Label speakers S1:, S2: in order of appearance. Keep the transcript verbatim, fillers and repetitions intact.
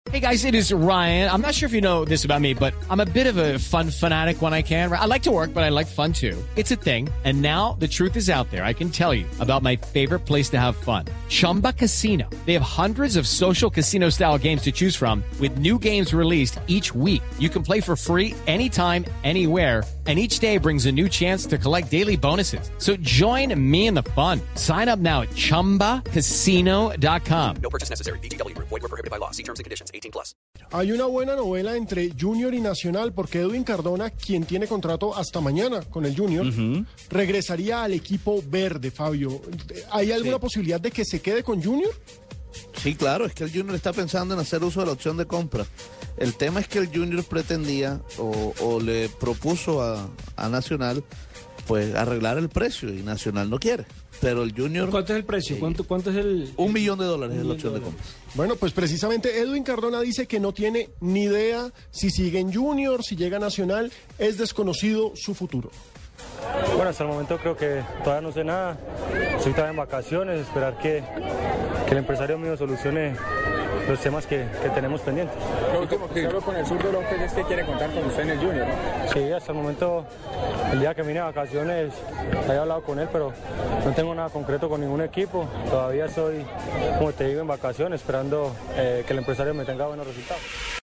S1: Hey guys, it is Ryan. I'm not sure if you know this about me, but I'm a bit of a fun fanatic when I can. I like to work, but I like fun too. It's a thing. And now the truth is out there. I can tell you about my favorite place to have fun. Chumba Casino. They have hundreds of social casino style games to choose from with new games released each week. You can play for free anytime, anywhere. And each day brings a new chance to collect daily bonuses. So join me in the fun. Sign up now at chumba casino dot com.
S2: No purchase necessary. V G W. Void where prohibited by law. See terms and conditions. eighteen plus.
S3: Hay una buena novela entre Junior y Nacional porque Edwin Cardona, quien tiene contrato hasta mañana con el Junior, uh-huh. regresaría al equipo verde, Fabio. ¿Hay alguna sí. posibilidad de que se quede con Junior?
S4: Sí, claro, es que el Junior está pensando en hacer uso de la opción de compra. El tema es que el Junior pretendía o, o le propuso a, a Nacional pues arreglar el precio y Nacional no quiere. Pero el Junior...
S5: ¿Cuánto es el precio? ¿Cuánto, cuánto es el...?
S4: Un millón de dólares es la opción de compra.
S3: Bueno, pues precisamente Edwin Cardona dice que no tiene ni idea si sigue en Junior, si llega a Nacional, es desconocido su futuro.
S6: Bueno, hasta el momento creo que todavía no sé nada. Estoy todavía en vacaciones, esperar que, que el empresario mío solucione los temas que, que tenemos pendientes.
S7: Lo último que hablo con el zurdo López es que quiere contar con usted en el Junior, ¿no?
S6: Sí, hasta el momento, el día que vine a vacaciones, había hablado con él, pero no tengo nada concreto con ningún equipo. Todavía estoy, como te digo, en vacaciones, esperando eh, que el empresario me tenga buenos resultados.